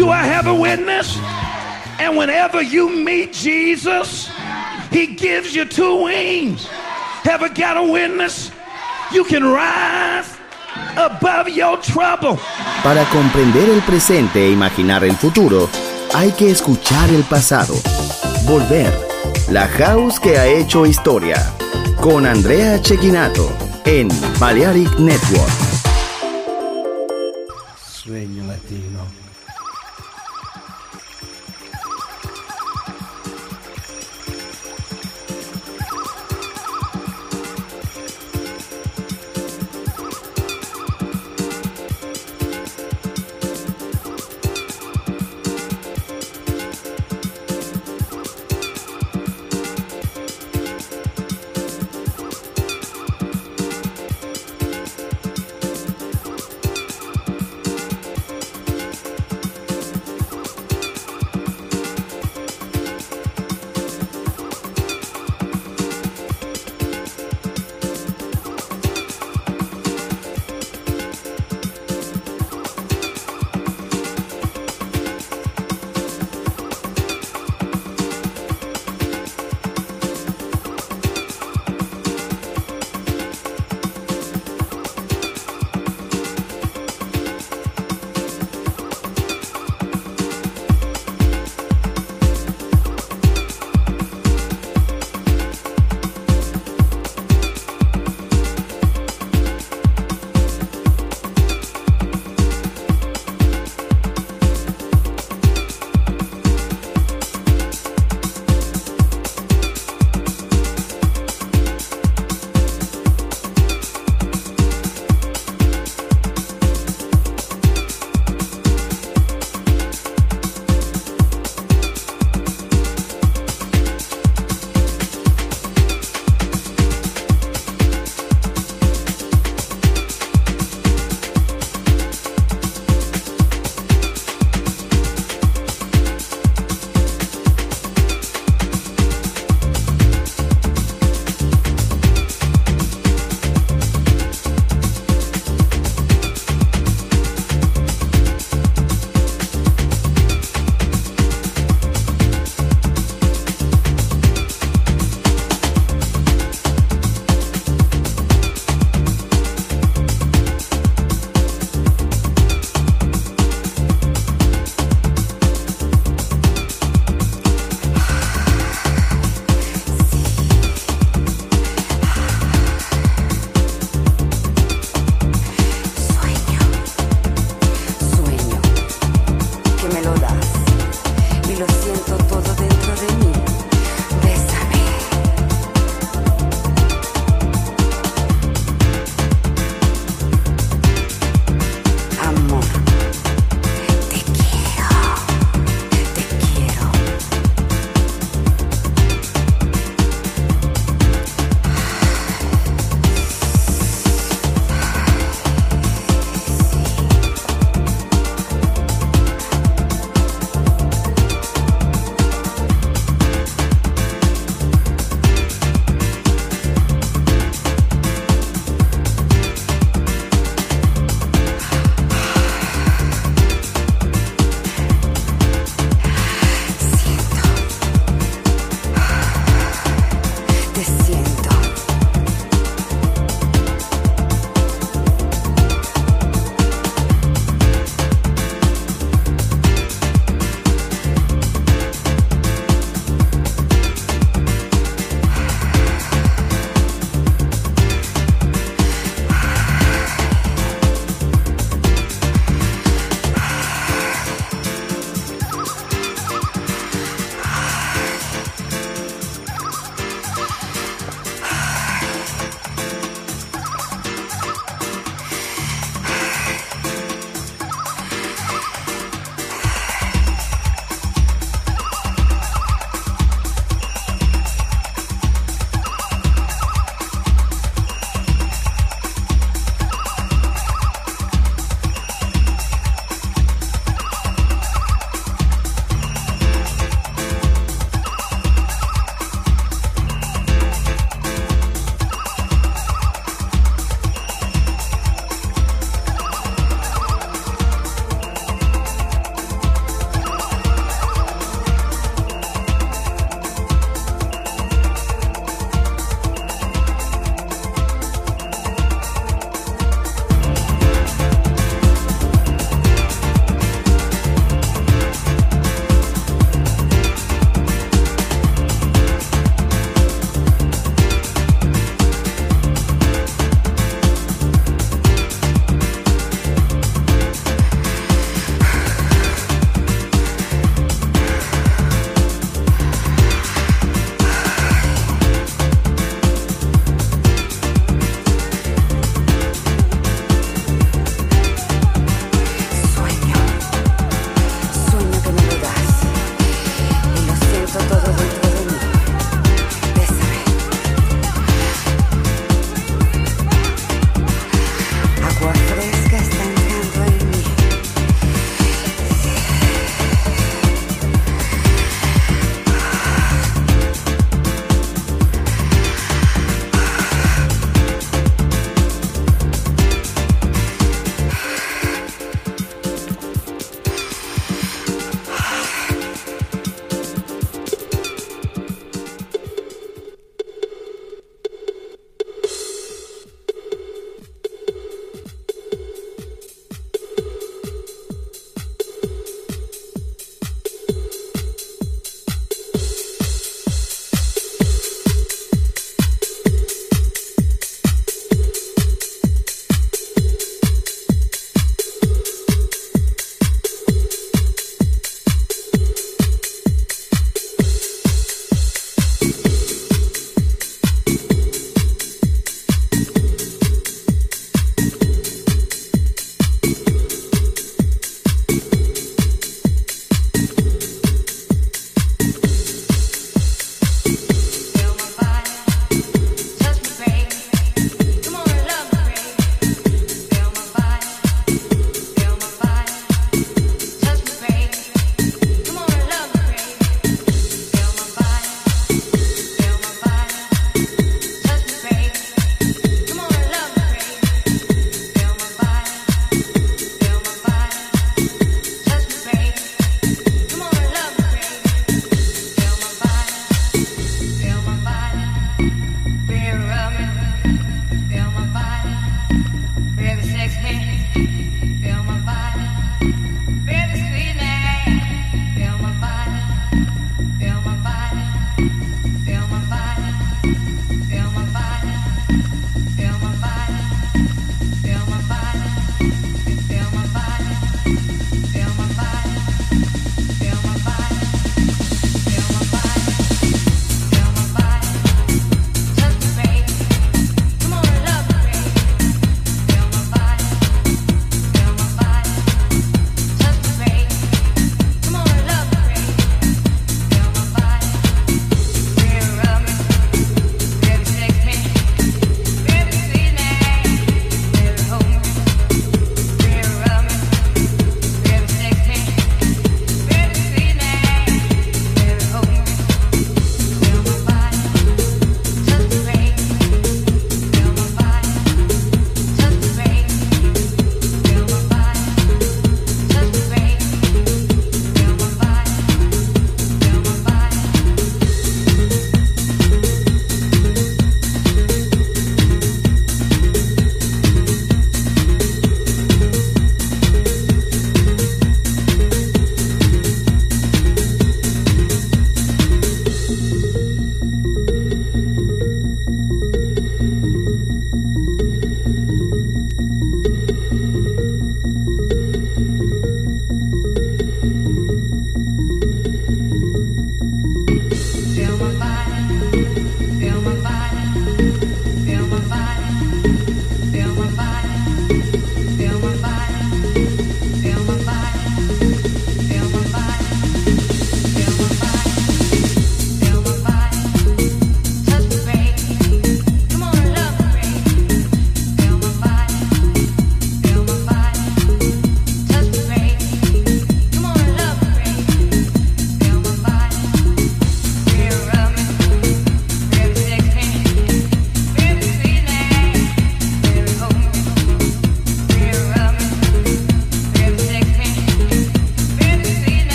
Do I have a witness? And whenever you meet Jesus, he gives you two wings. Have I got a witness? You can rise above your trouble. Para comprender el presente e imaginar el futuro, hay que escuchar el pasado. Volver. La House que ha hecho historia. Con Andrea Cecchinato en Balearic Network. Sueño latino.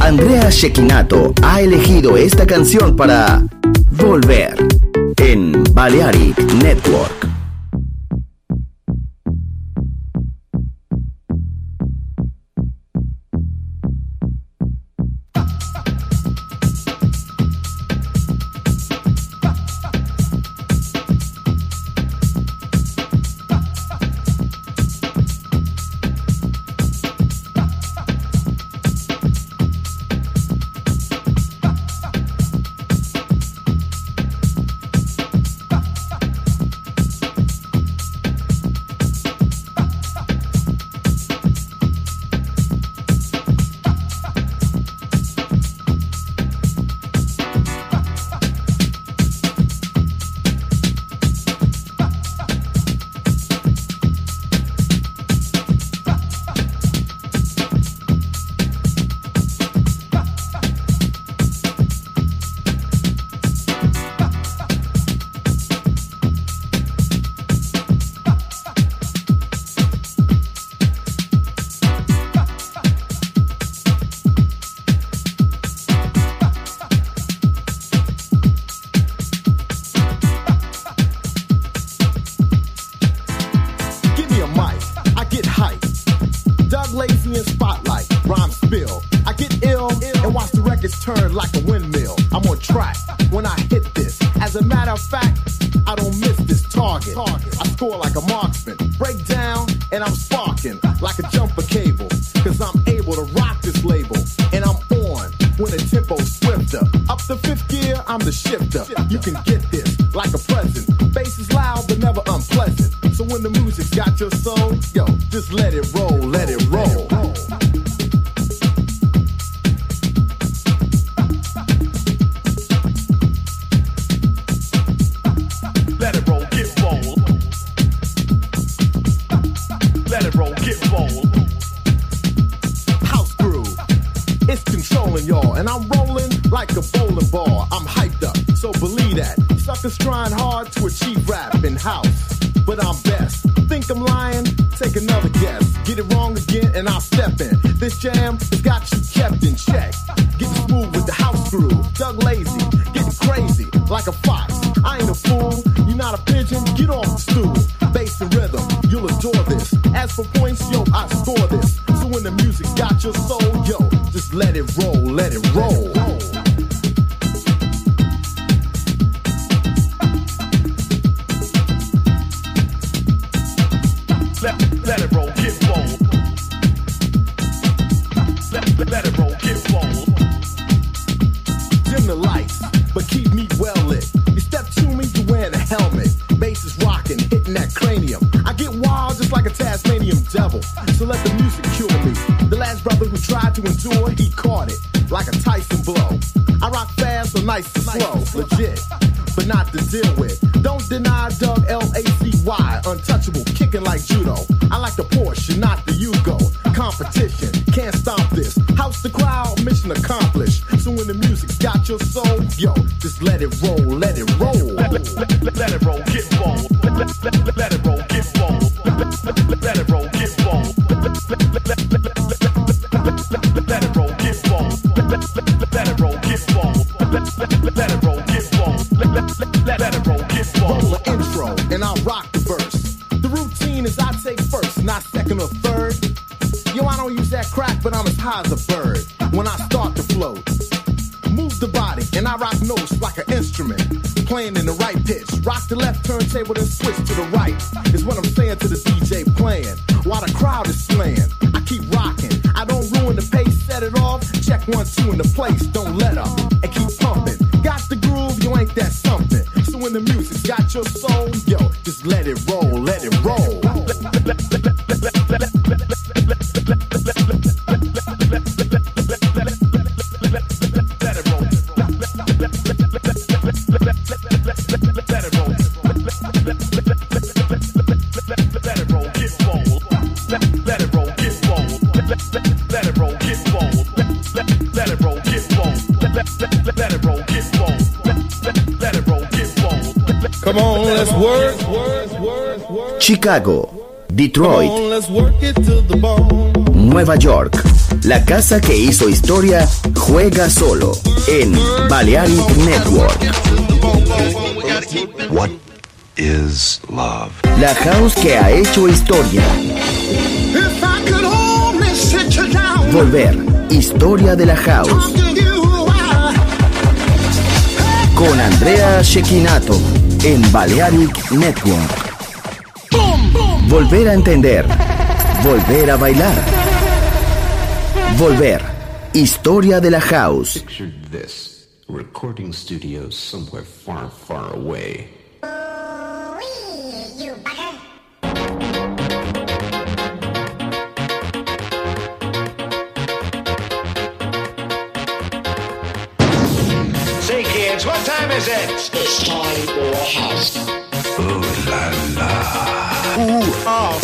Andrea Cecchinato ha elegido esta canción para volver en Balearic Network. Lazy in spotlight, rhyme spill. I get ill and watch the records turn like a windmill. I'm on track when I hit this. As a matter of fact, I don't miss this target. I score like a marksman, break down and I'm sparking like a jumper cable. Cause I'm able to rock this label and I'm on when the tempo's swifter. Up to fifth gear, I'm the shifter. You can get this like a present. Bass is loud but never unpleasant. So when the music's got your soul, yo, just let it roll, let it roll. Let it roll, get roll. Let it roll, get roll. House groove, it's controlling y'all, and I'm rolling like a bowling ball. I'm hyped up, so believe that. Suckers trying hard to achieve rap in house, but I'm best. Think I'm lying? Take another guess. Get it wrong again and I'll step in. This jam has got you kept in check. Getting smooth with the house groove. Doug Lazy, getting crazy like a fox. I ain't a fool, you're not a pigeon, get off the stool. Bass and rhythm, you'll adore this. As for points, yo, I score this. So when the music's got your soul, yo, just let it roll, let it roll. Let it roll, get roll. Let it roll, get roll. Dim the lights, but keep me well lit. You step to me, you wearing a helmet. Bass is rocking, hitting that cranium. I get wild just like a Tasmanian devil. So let the music cure me. The last brother who tried to endure, he caught it like a Tyson blow. I rock fast, so nice and slow, legit, but not to deal with. Don't deny Doug Lazy, untouchable, kicking like judo. I like the Porsche, not the Yugo. Competition, can't stop this. House the crowd, mission accomplished. So when the music's got your soul, yo, just let it roll, let it roll. Let it roll, get roll. Let it roll, get roll. Let it roll, get roll. Let it roll, get roll. Let it roll, get roll. Let it roll, get roll. Let it roll, get roll. Roll the intro, and I'll rock the verse. The routine is I take first, not second or third. Yo, I don't use that crack, but I'm as high as a bird when I start to float. Move the body, and I rock notes like an instrument, playing in the right pitch. Rock the left turntable, then switch to the right, is what I'm saying to the DJ playing, while the crowd is slaying. I keep rocking, I don't ruin the pace, set it off, check 1, 2 in the place, don't let up, and keep pumping. Got the groove, you ain't that something. So when the music's got your soul, yo, just let it roll, let it roll. Come on, let's work. Chicago, Detroit, Come on, let's work it to the bone. Nueva York, La casa que hizo historia juega solo en Balearic Network. What is love? La house que ha hecho historia. Volver, historia de la house. Con Andrea Cecchinato en Balearic Network. Volver a entender. Volver a bailar. Volver, historia de la house. Picture this, recording studios somewhere far, far away. Say, kids, what time is it? It's time for a house. Ooh la la. Ooh, oh.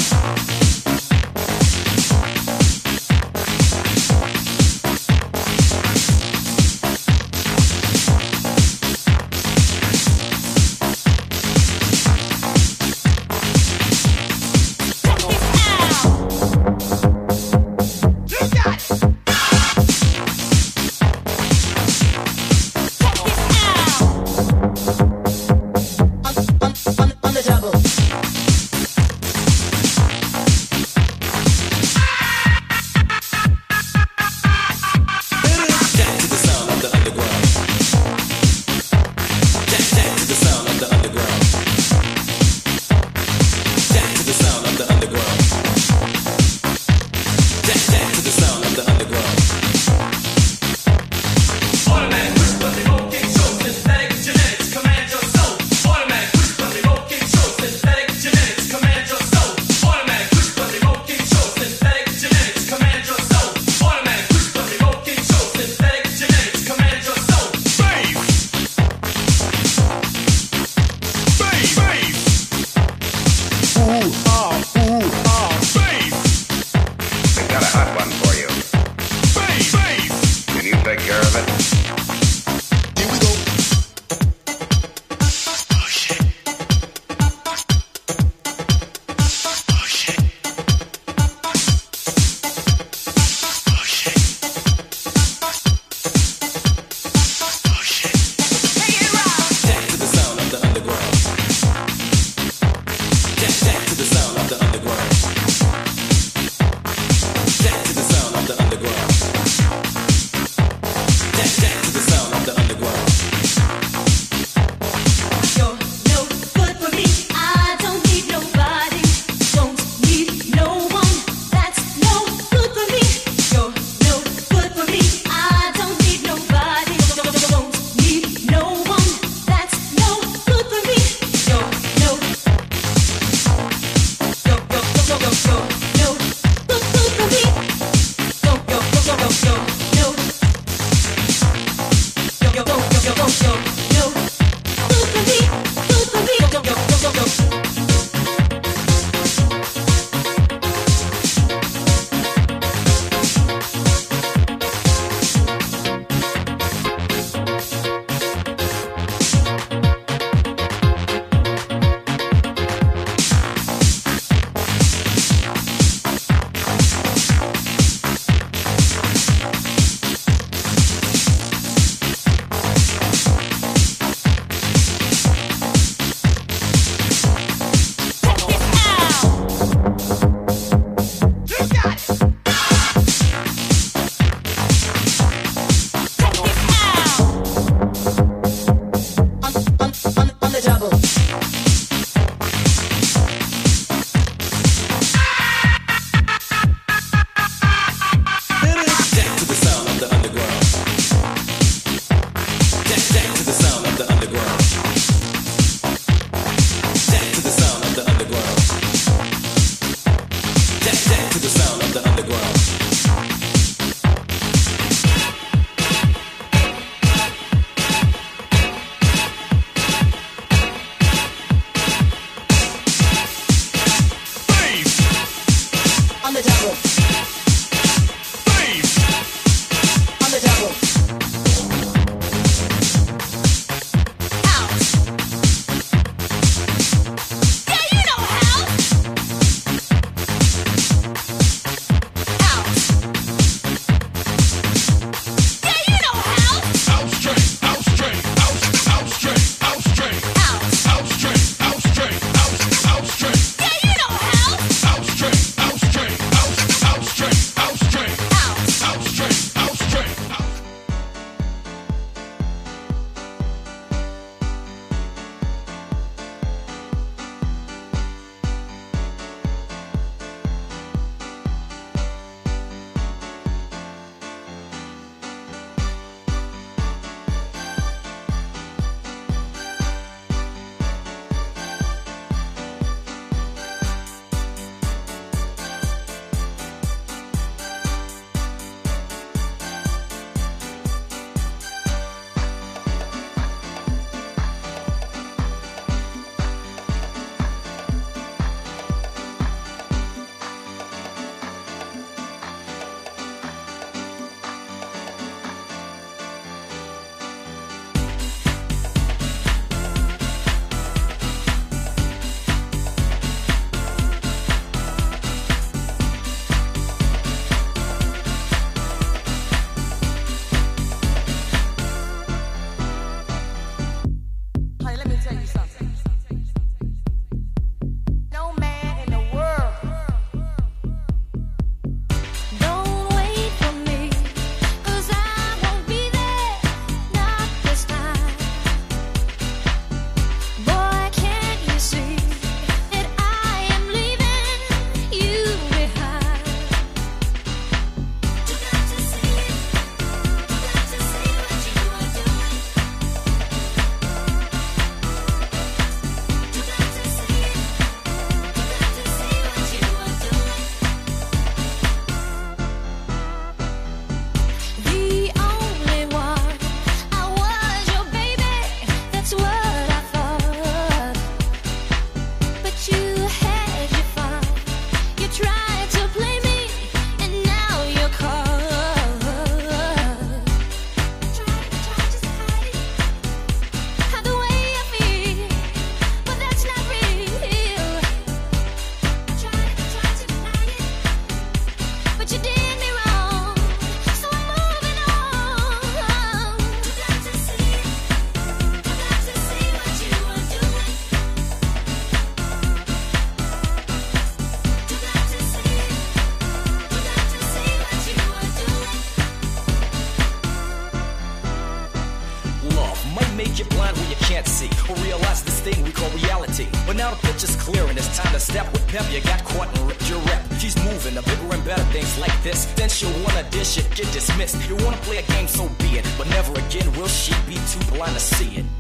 clear and it's time to step with pep. You got caught and ripped your rep. She's moving to bigger and better things like this. Then she'll wanna dish it, get dismissed. You wanna play a game, so be it. But never again will she be too blind to see it.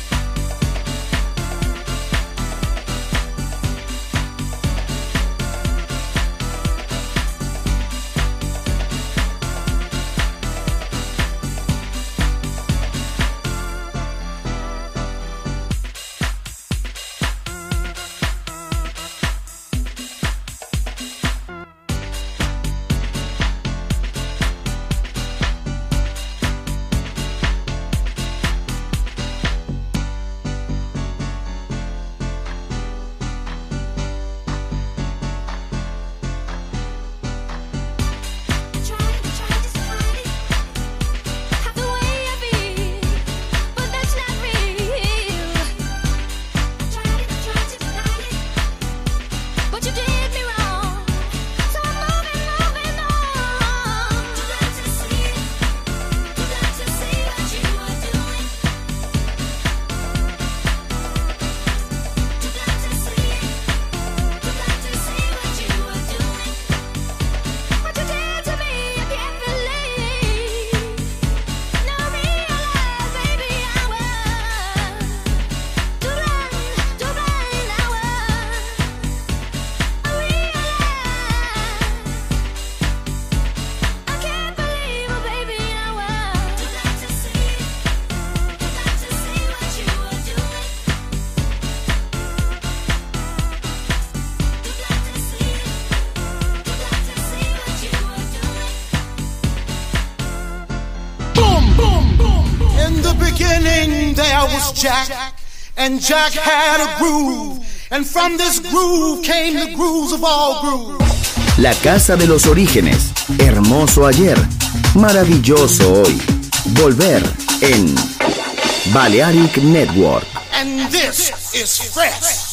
There was Jack, and Jack had a groove, and from this groove came the grooves of all grooves. La casa de los orígenes, hermoso ayer, maravilloso hoy. Volver en Balearic Network. And this is fresh.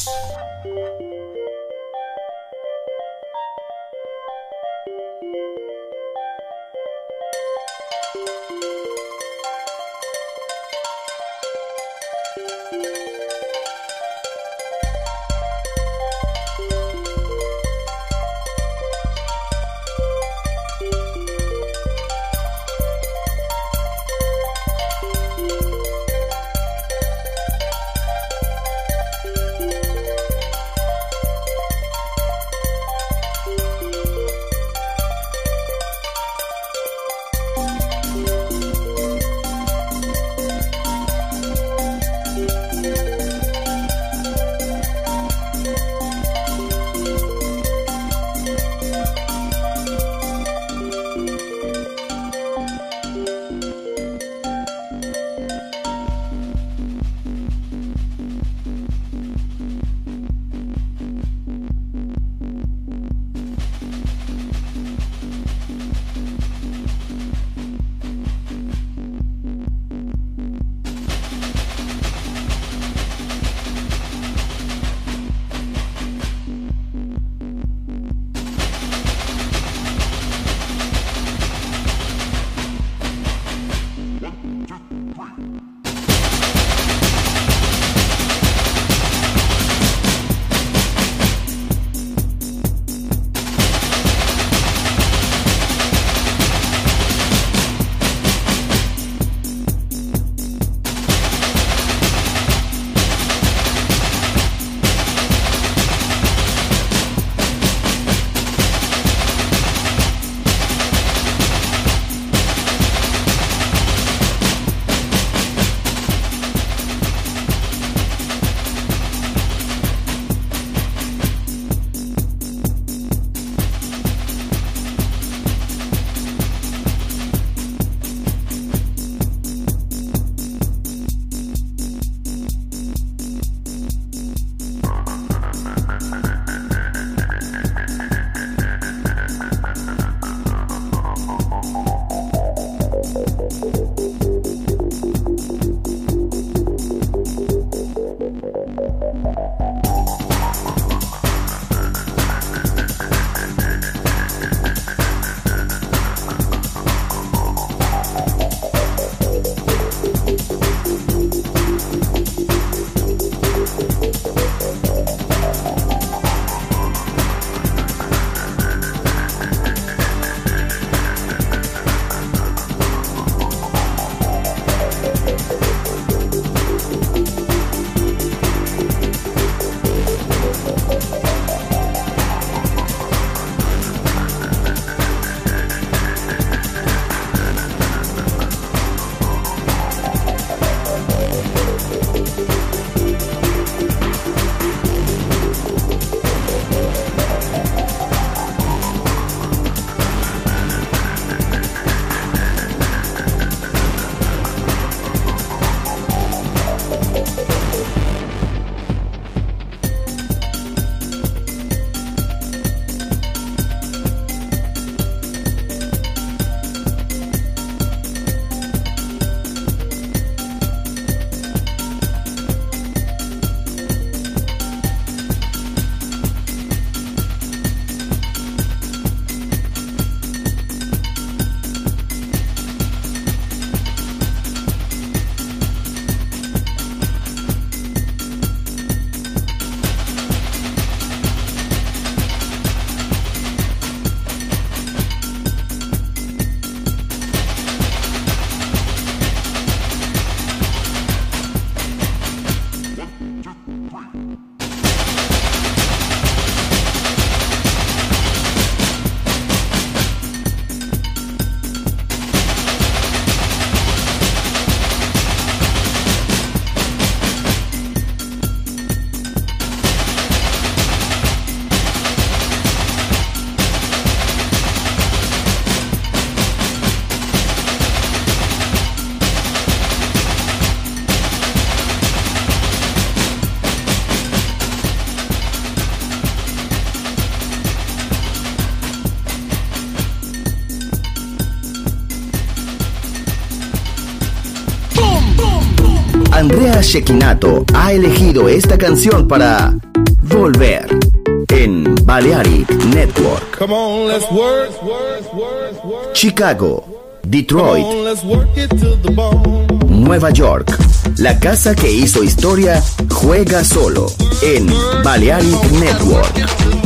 Andrea Cecchinato ha elegido esta canción para volver en Balearic Network. Come on, let's work. Chicago, Detroit, Come on, let's work it to the bone. Nueva York. La casa que hizo historia juega solo en Balearic Network.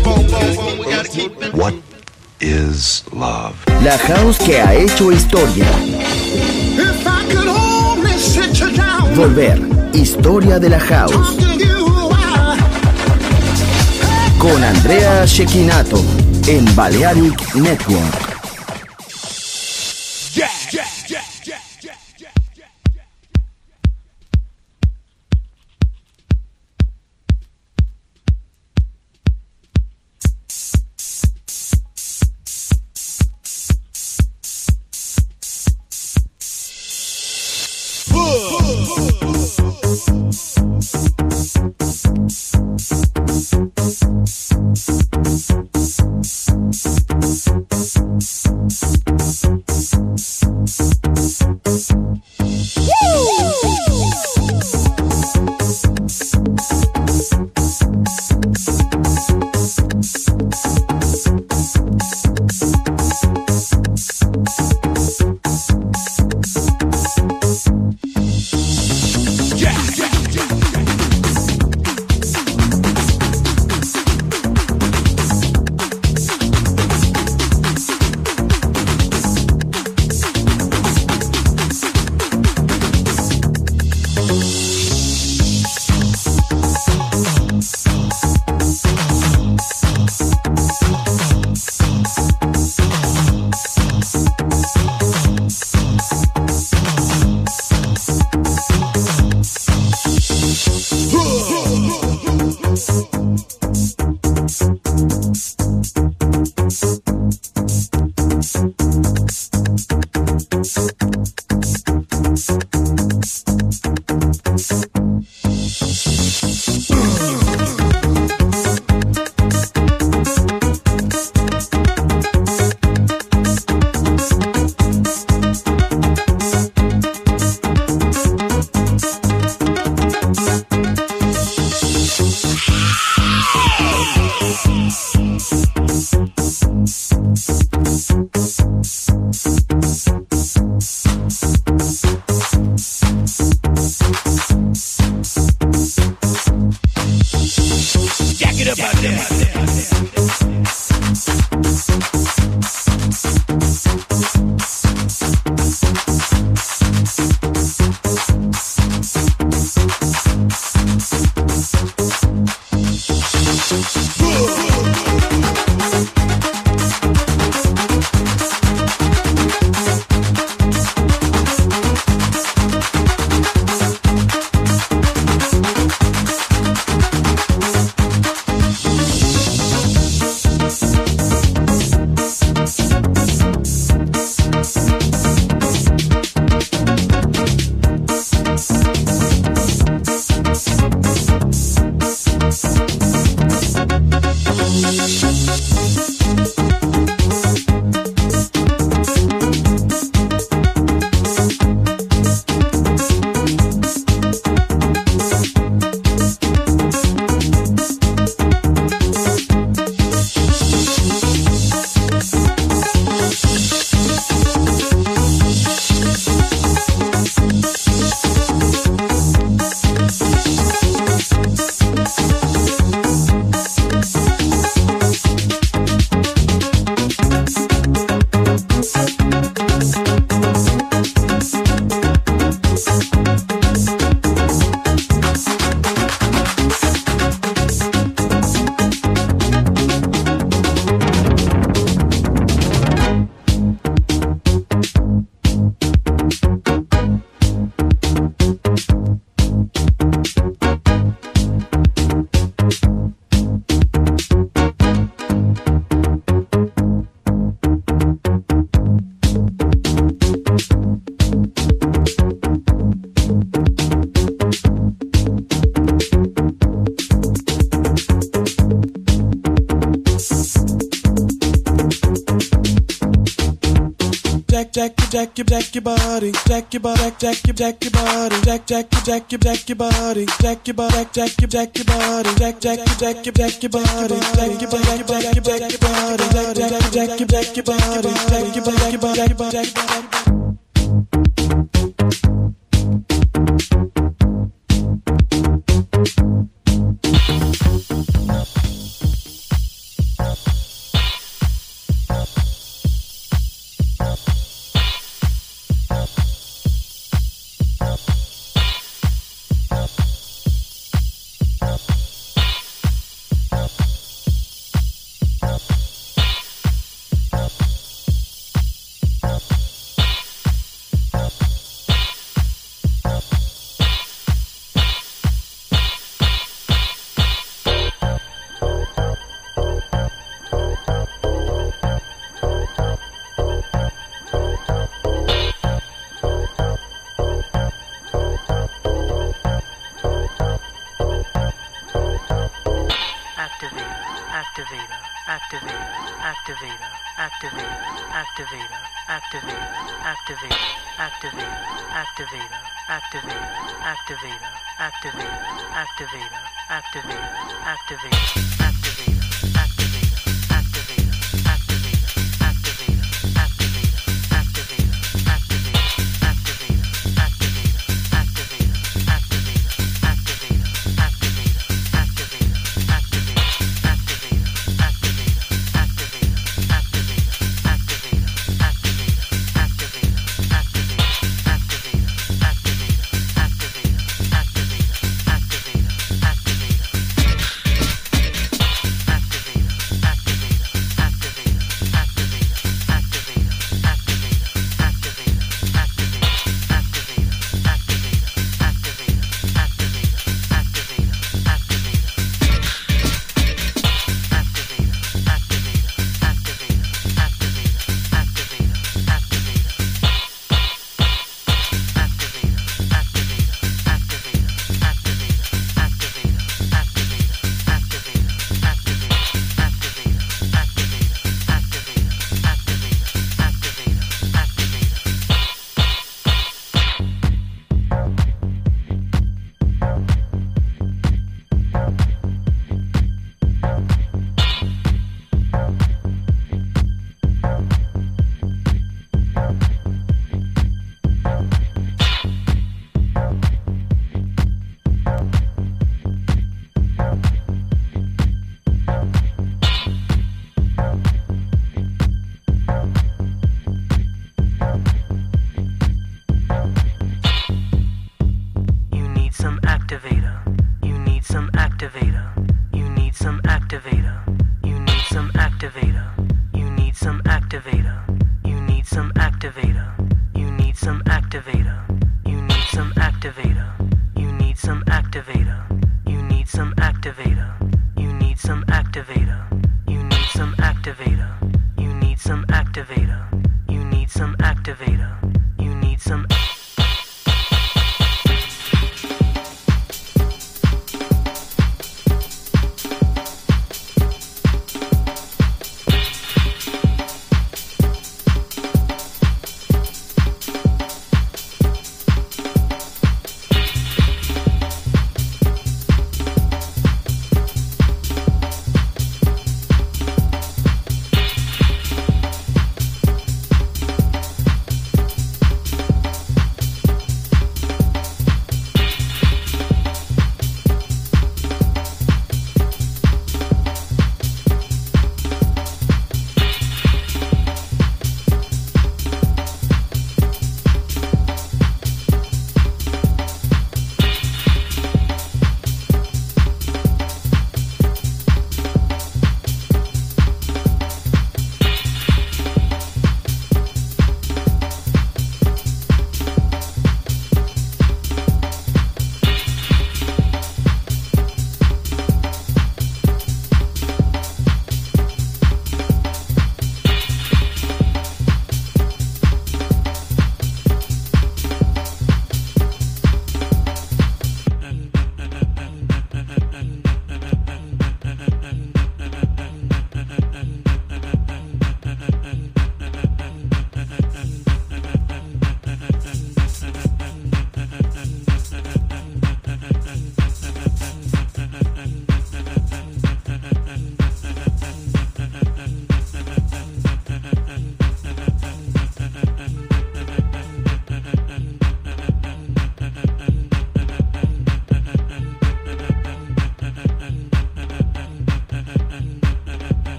What is love? La house que ha hecho historia. If I could only sit you down, Volver, historia de la house. talk to you, Con Andrea Cecchinato en Balearic Network. your body, jack your body, jack your body, jack your body, jack your body, jack your body, jack your body, jack your body, jack your body, jack your body.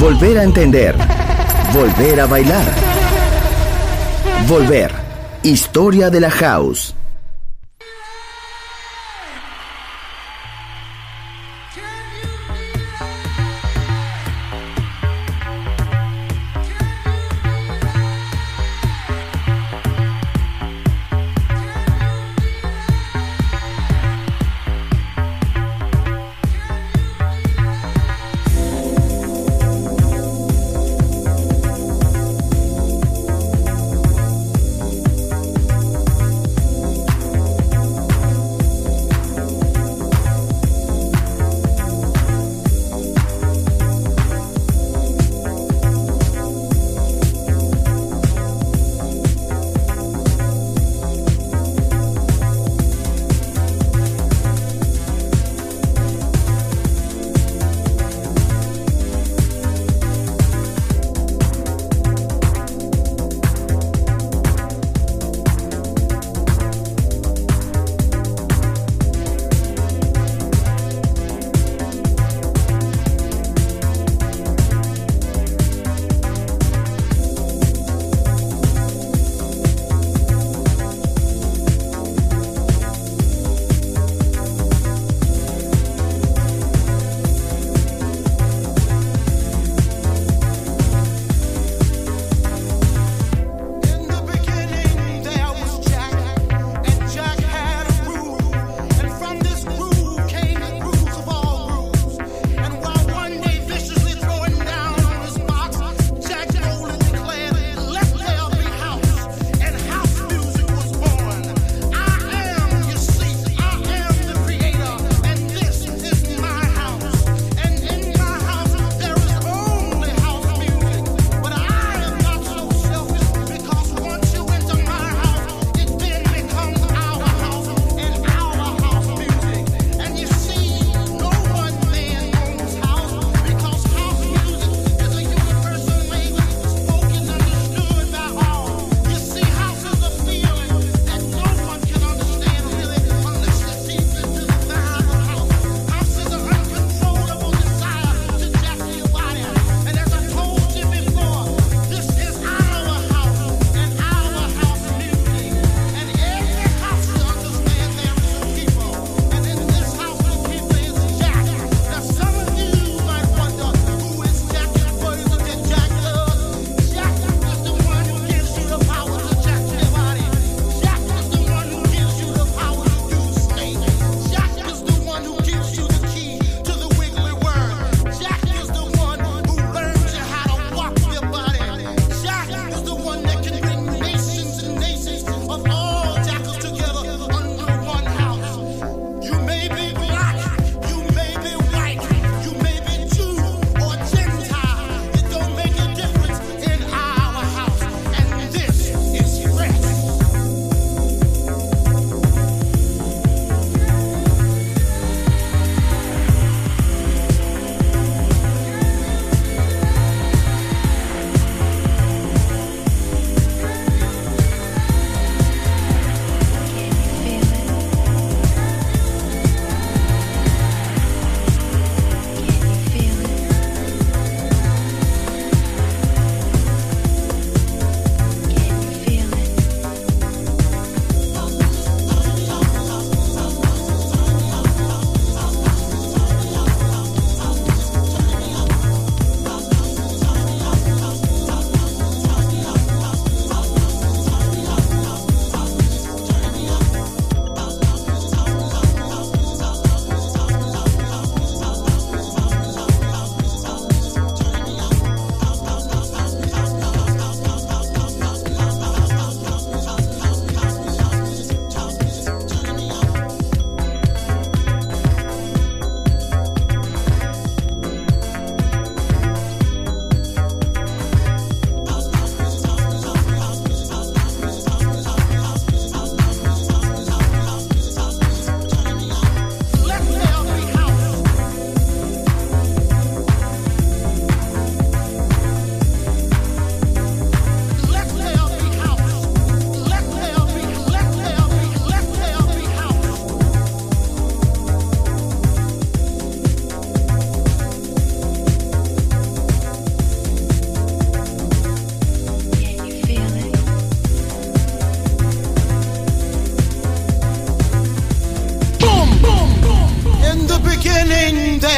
volver a entender, volver a bailar. Volver. Historia de la House.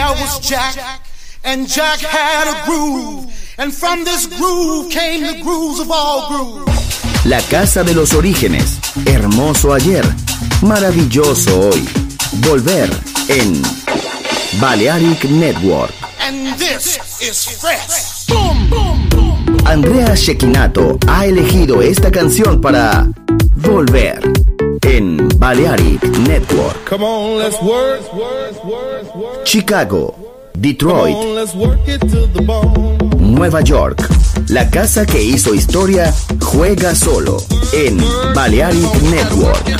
there was Jack, and Jack had a groove, and from this groove came the grooves of all grooves. La casa de los orígenes, hermoso ayer, maravilloso hoy. Volver en Balearic Network. And this is fresh. Boom, boom, boom. Andrea Cecchinato ha elegido esta canción para Volver en Balearic Network. Come on, let's work. Chicago, Detroit, Come on, let's work it to the bone. Nueva York. La casa que hizo historia juega solo en Balearic Network.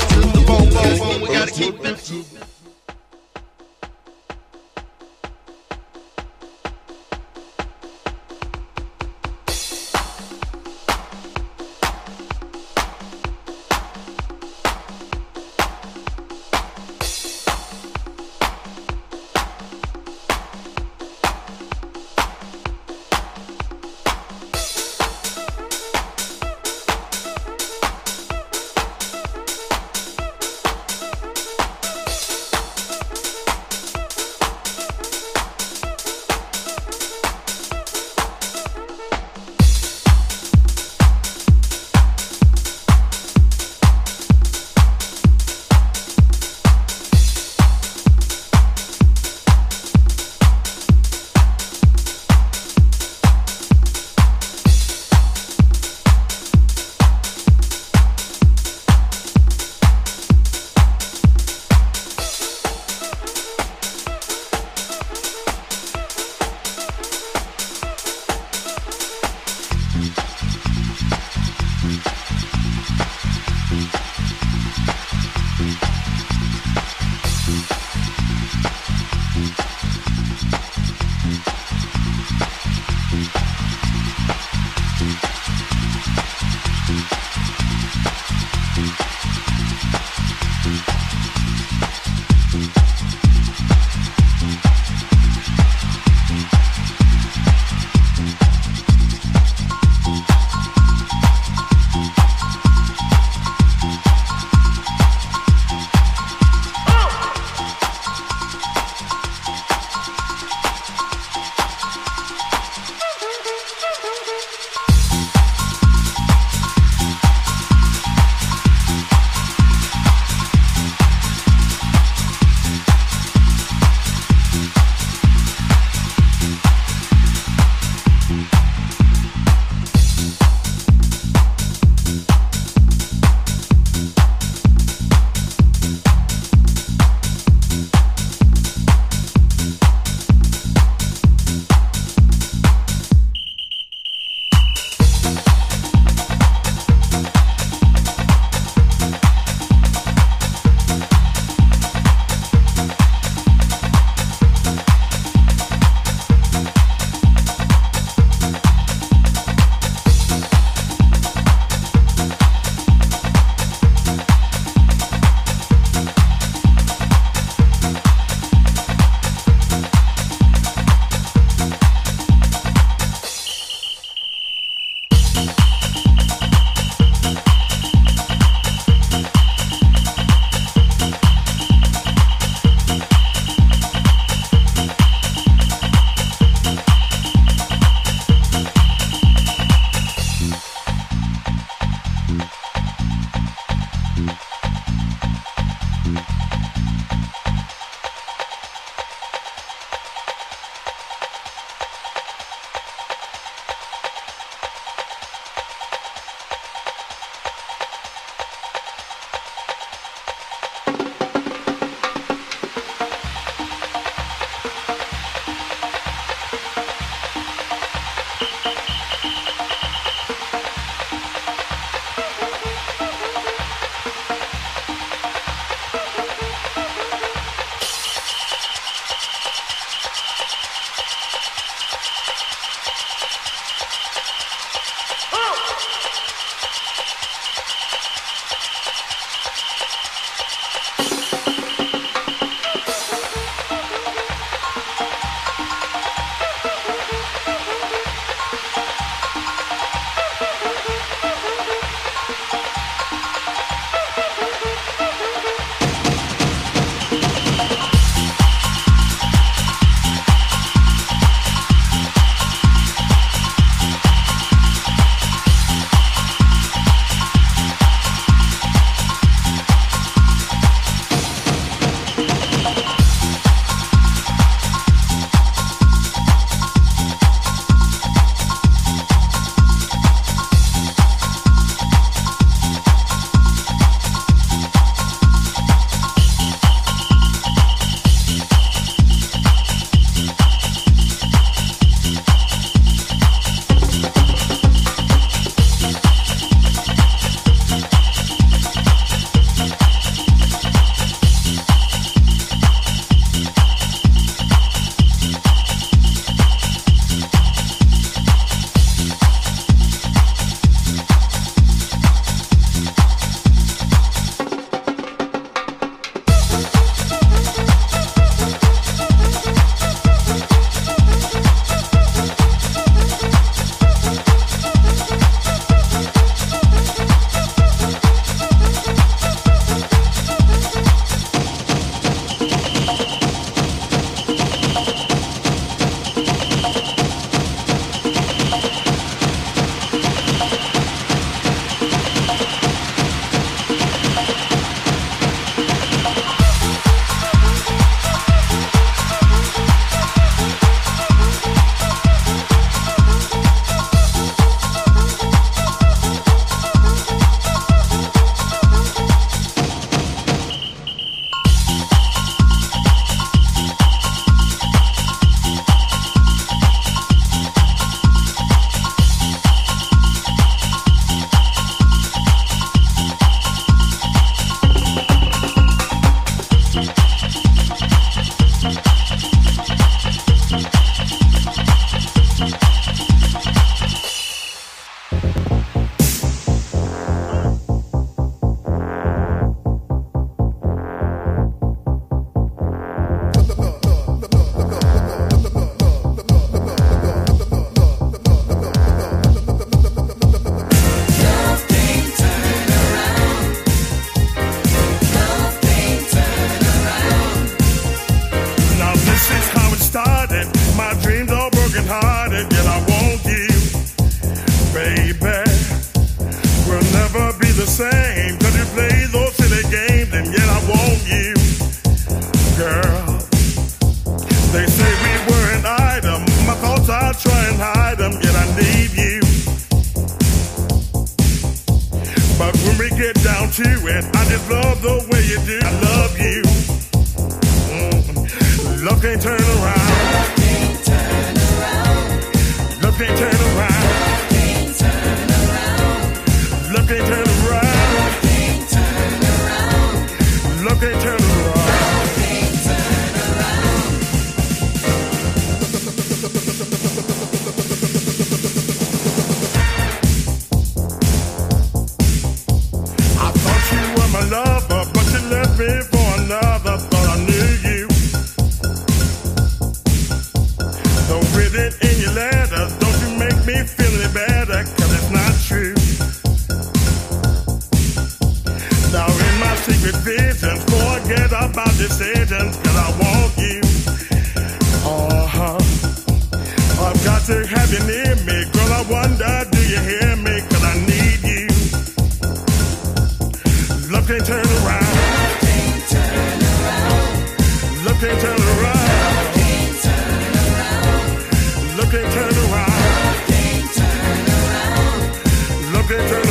But when we get down to it, I just love the way you do. I love you. Love can't turn around. Love can't turn around. Love can't turn around. Love can't turn around. Love can't turn around. I thought you were my lover, but you left me for another. Thought I knew you. Don't read it in your letters. Don't you make me feel any better, 'cause it's not true. Now in my secret visions, forget about decisions, 'cause I want you. I've got to have you near me, girl. I wonder, do you hear me? 'Cause I need you. Love can't turn around. Love can't turn around. Love can't turn around. Love can't turn around. Love can't turn around.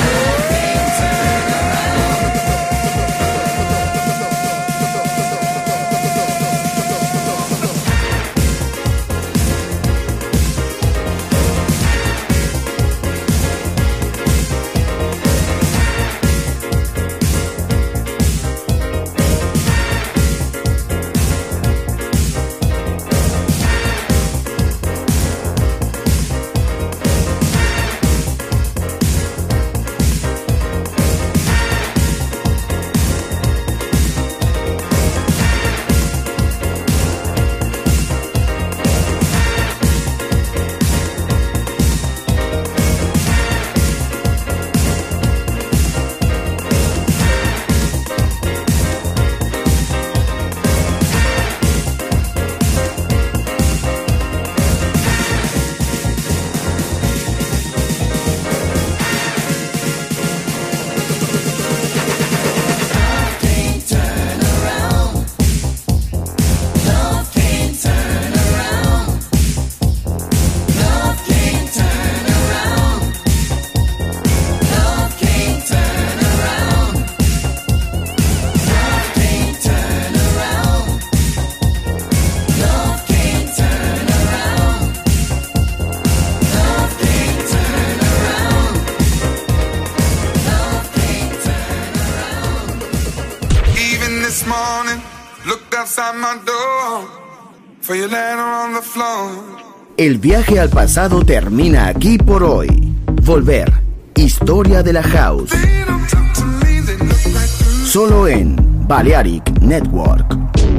El viaje al pasado termina aquí por hoy. Volver. Historia de la House. Solo en Balearic Network.